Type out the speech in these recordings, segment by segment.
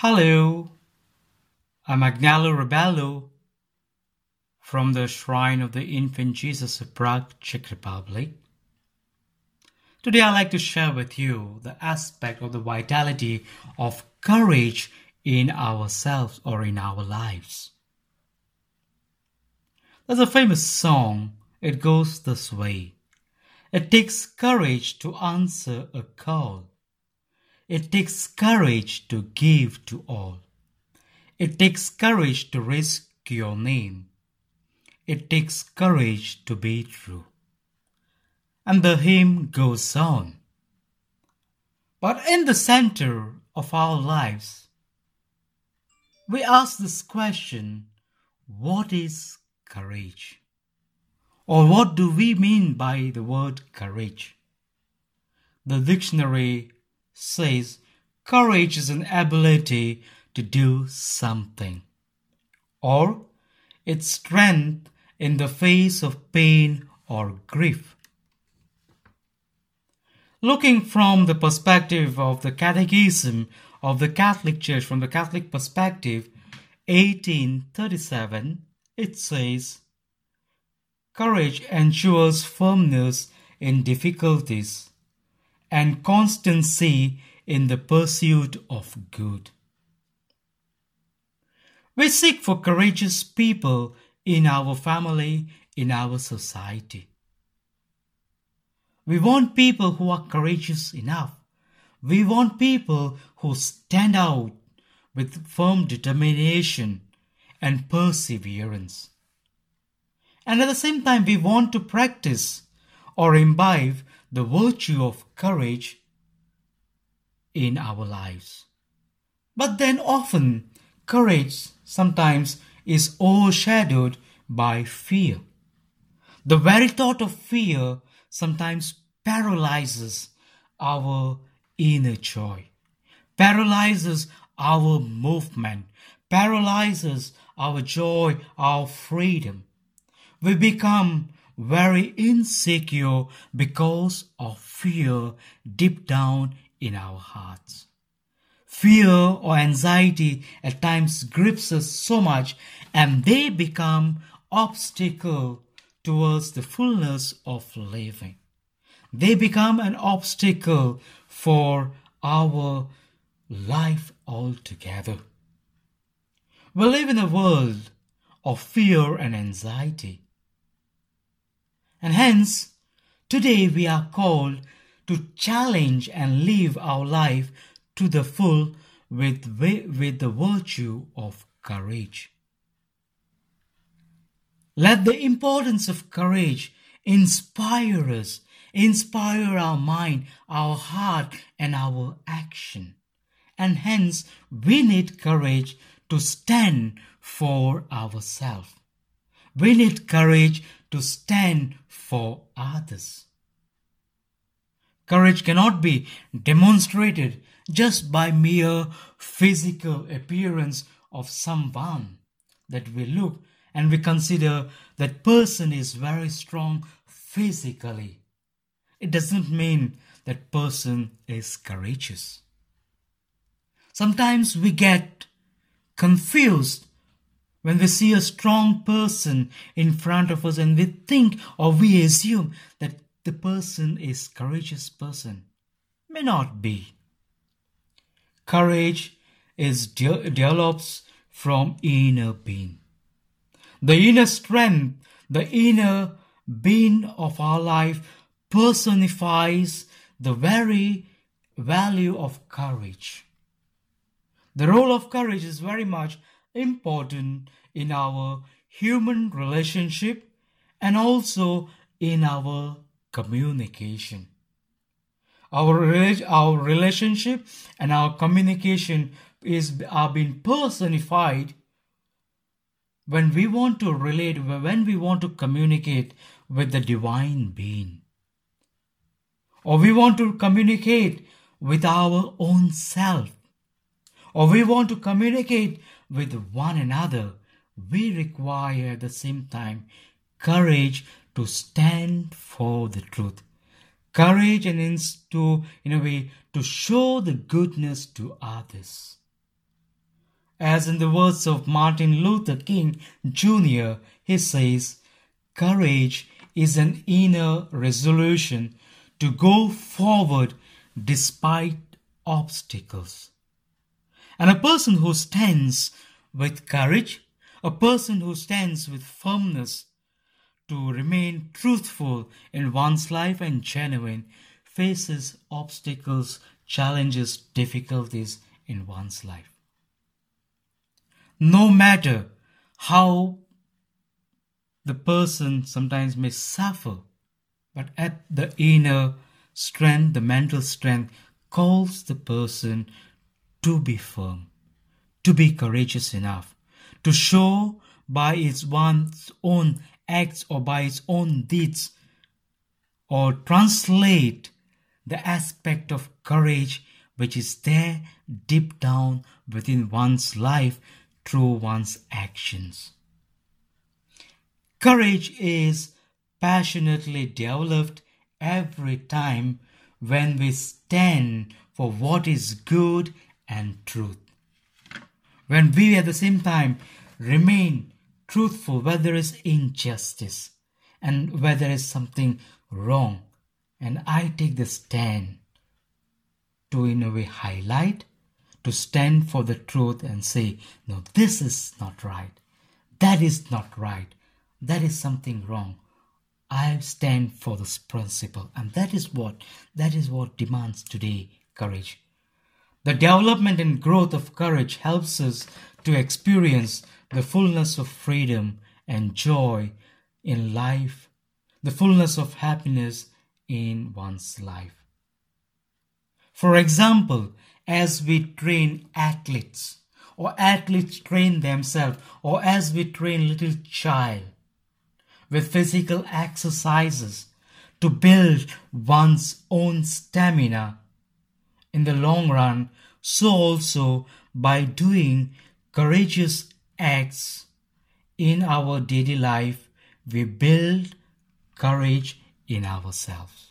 Hello, I'm Agnello Rebello from the Shrine of the Infant Jesus of Prague, Czech Republic. Today I'd like to share with you the aspect of the vitality of courage in ourselves or in our lives. There's a famous song, it goes this way. It takes courage to answer a call. It takes courage to give to all. It takes courage to risk your name. It takes courage to be true. And the hymn goes on. But in the center of our lives, we ask this question, what is courage? Or what do we mean by the word courage? The dictionary says courage is an ability to do something, or its strength in the face of pain or grief. Looking from the perspective of the Catechism of the Catholic Church, from the Catholic perspective, 1837, it says, courage ensures firmness in difficulties and constancy in the pursuit of good. We seek for courageous people in our family, in our society. We want people who are courageous enough. We want people who stand out with firm determination and perseverance. And at the same time, we want to practice or imbibe the virtue of courage in our lives. But then often, courage sometimes is overshadowed by fear. The very thought of fear sometimes paralyzes our inner joy, paralyzes our movement, paralyzes our joy, our freedom. We become very insecure because of fear deep down in our hearts. Fear or anxiety at times grips us so much, and they become obstacle towards the fullness of living. They become an obstacle for our life altogether. We live in a world of fear and anxiety. And hence, today we are called to challenge and live our life to the full with the virtue of courage. Let the importance of courage inspire us, inspire our mind, our heart, and our action. And hence, we need courage to stand for ourselves. We need courage to stand for others. Courage cannot be demonstrated just by mere physical appearance of someone that we look and we consider that person is very strong physically. It doesn't mean that person is courageous. Sometimes we get confused when we see a strong person in front of us and we think or we assume that the person is a courageous person. May not be. Courage develops from inner being. The inner strength, the inner being of our life personifies the very value of courage. The role of courage is very much important in our human relationship and also in our communication. Our relationship and our communication are being personified when we want to relate, when we want to communicate with the divine being. Or we want to communicate with our own self. Or we want to communicate with one another. We require at the same time courage to stand for the truth. Courage and to, in a way, to show the goodness to others. As in the words of Martin Luther King Jr., he says, "Courage is an inner resolution to go forward despite obstacles." And a person who stands with courage, a person who stands with firmness to remain truthful in one's life and genuine, faces obstacles, challenges, difficulties in one's life. No matter how the person sometimes may suffer, but at the inner strength, the mental strength calls the person to be firm, to be courageous enough, to show by one's own acts or by its own deeds, or translate the aspect of courage which is there deep down within one's life through one's actions. Courage is passionately developed every time when we stand for what is good and truth. When we at the same time remain truthful where there is injustice and where there is something wrong, and I take the stand to in a way highlight, to stand for the truth and say, no, this is not right, that is not right, that is something wrong. I stand for this principle, and that is what demands today courage. The development and growth of courage helps us to experience the fullness of freedom and joy in life, the fullness of happiness in one's life. For example, as we train athletes, or athletes train themselves, or as we train little child with physical exercises to build one's own stamina in the long run, so also by doing courageous acts in our daily life, we build courage in ourselves.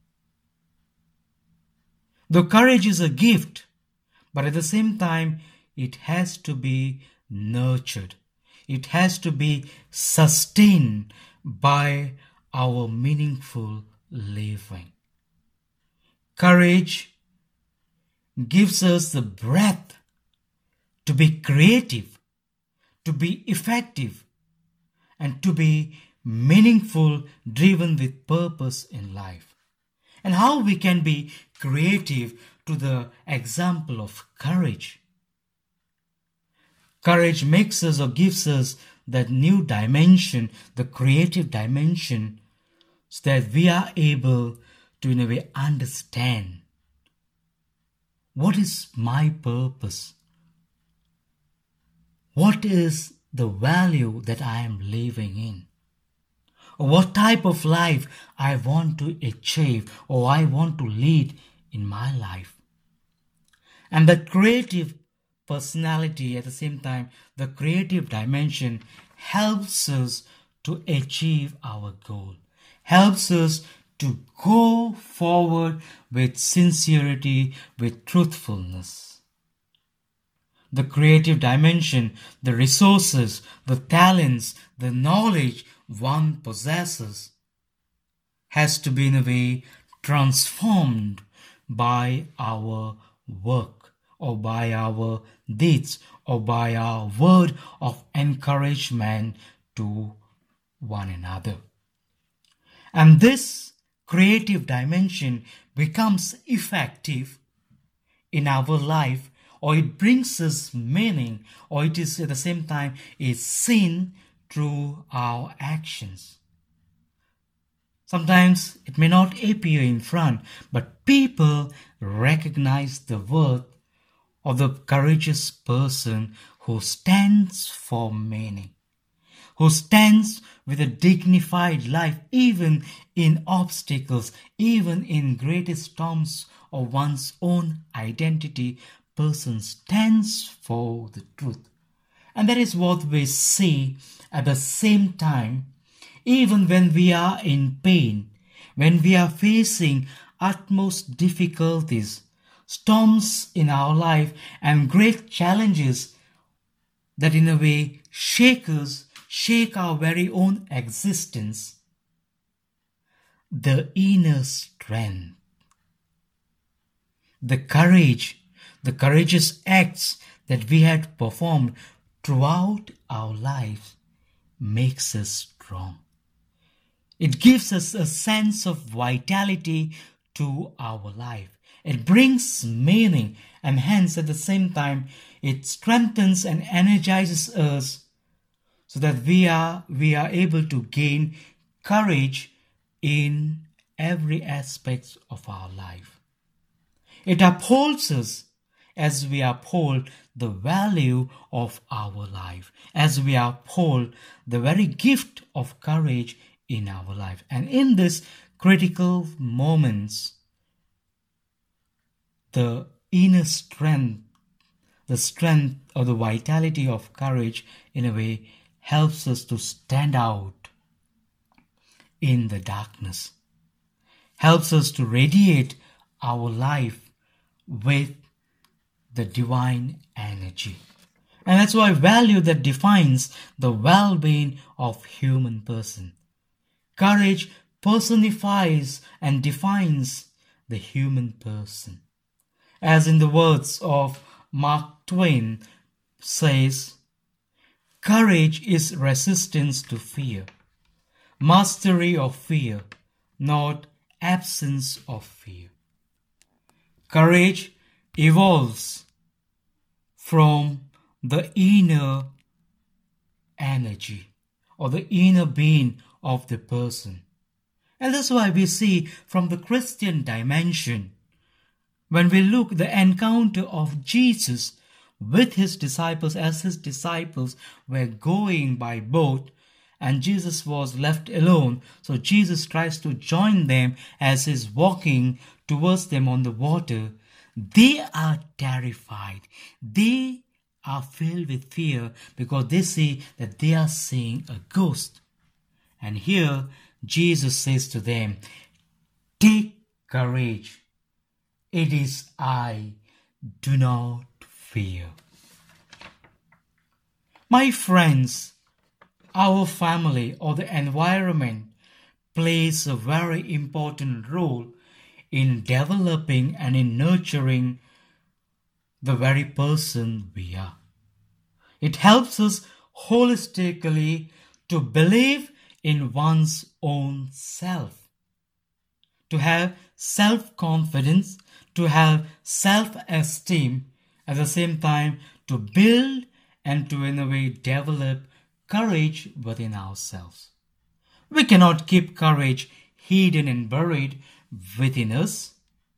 Though courage is a gift, but at the same time, it has to be nurtured. It has to be sustained by our meaningful living. Courage gives us the breath to be creative, to be effective, and to be meaningful, driven with purpose in life. And how we can be creative to the example of courage. Courage makes us or gives us that new dimension, the creative dimension, so that we are able to in a way understand what is my purpose, what is the value that I am living in, or what type of life I want to achieve or I want to lead in my life. And the creative personality, at the same time, the creative dimension helps us to achieve our goal, helps us to go forward with sincerity, with truthfulness. The creative dimension, the resources, the talents, the knowledge one possesses has to be in a way transformed by our work or by our deeds or by our word of encouragement to one another. And this creative dimension becomes effective in our life, or it brings us meaning, or it is at the same time is seen through our actions. Sometimes it may not appear in front, but people recognize the worth of the courageous person who stands for meaning, who stands with a dignified life even in obstacles, even in greatest storms of one's own identity. Person stands for the truth. And that is what we see at the same time, even when we are in pain, when we are facing utmost difficulties, storms in our life and great challenges that in a way shake us, shake our very own existence, the inner strength, the courage, the courageous acts that we had performed throughout our lives makes us strong. It gives us a sense of vitality to our life. It brings meaning, and hence at the same time it strengthens and energizes us so that we are able to gain courage in every aspect of our life. It upholds us as we uphold the value of our life, as we uphold the very gift of courage in our life. And in this critical moments, the inner strength, the strength or the vitality of courage in a way helps us to stand out in the darkness, helps us to radiate our life with the divine energy. And that's why value that defines the well-being of human person. Courage personifies and defines the human person. As in the words of Mark Twain says, courage is resistance to fear, mastery of fear, not absence of fear. Courage evolves from the inner energy or the inner being of the person. And that's why we see from the Christian dimension, when we look the encounter of Jesus with his disciples, as his disciples were going by boat and Jesus was left alone. So Jesus tries to join them as he's walking towards them on the water. They are terrified. They are filled with fear because they see that they are seeing a ghost. And here Jesus says to them, take courage. It is I. Do not fear. My friends, our family or the environment plays a very important role in developing and in nurturing the very person we are. It helps us holistically to believe in one's own self, to have self-confidence, to have self-esteem, at the same time to build and to in a way develop courage within ourselves. We cannot keep courage hidden and buried within us.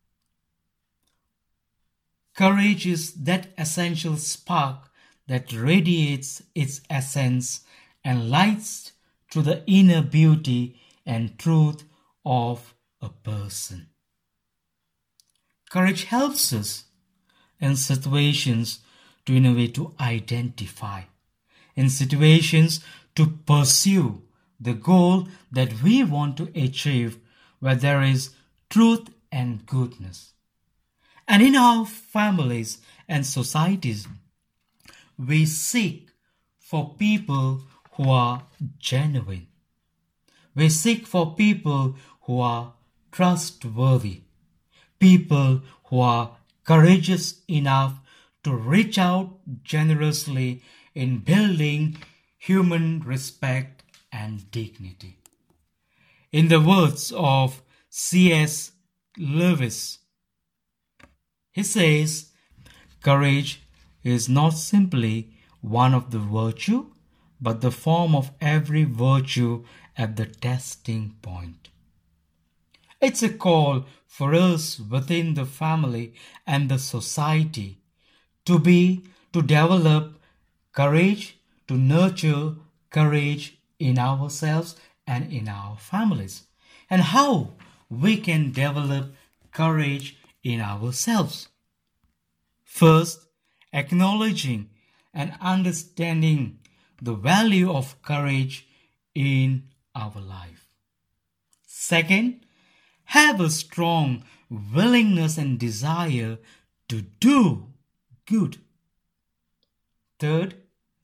Courage is that essential spark that radiates its essence and lights through the inner beauty and truth of a person. Courage helps us in situations to in a way to identify, in situations to pursue the goal that we want to achieve, where there is truth and goodness. And in our families and societies, we seek for people who are genuine. We seek for people who are trustworthy, people who are courageous enough to reach out generously in building human respect and dignity. In the words of C.S. Lewis, he says, courage is not simply one of the virtue, but the form of every virtue at the testing point. It's a call for us within the family and the society to develop courage, to nurture courage in ourselves and in our families. And how we can develop courage in ourselves. First, acknowledging and understanding the value of courage in our life. Second, have a strong willingness and desire to do good. Third,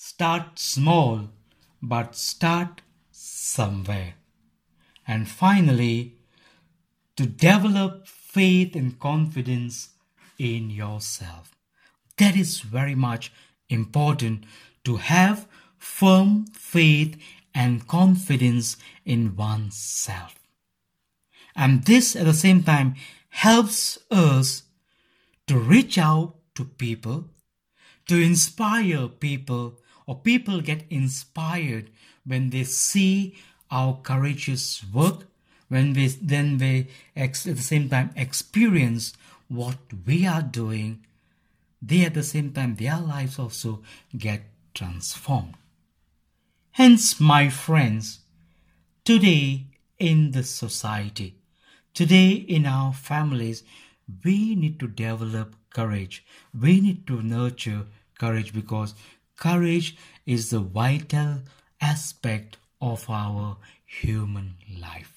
Start small, but start somewhere. And finally, to develop faith and confidence in yourself. That is very much important, to have firm faith and confidence in oneself. And this at the same time helps us to reach out to people, to inspire people, or people get inspired when they see our courageous work, when they at the same time experience what we are doing. They at the same time, their lives also get transformed. Hence, my friends, today in the society, today in our families, we need to develop courage. We need to nurture courage, because courage is the vital aspect of our human life.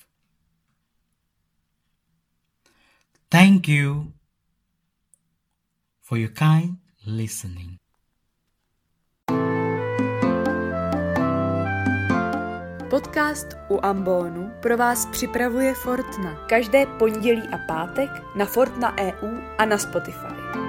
Thank you for your kind listening. Podcast u Ambonu pro vás připravuje Fortna. Každé pondělí a pátek na Fortna EU a na Spotify.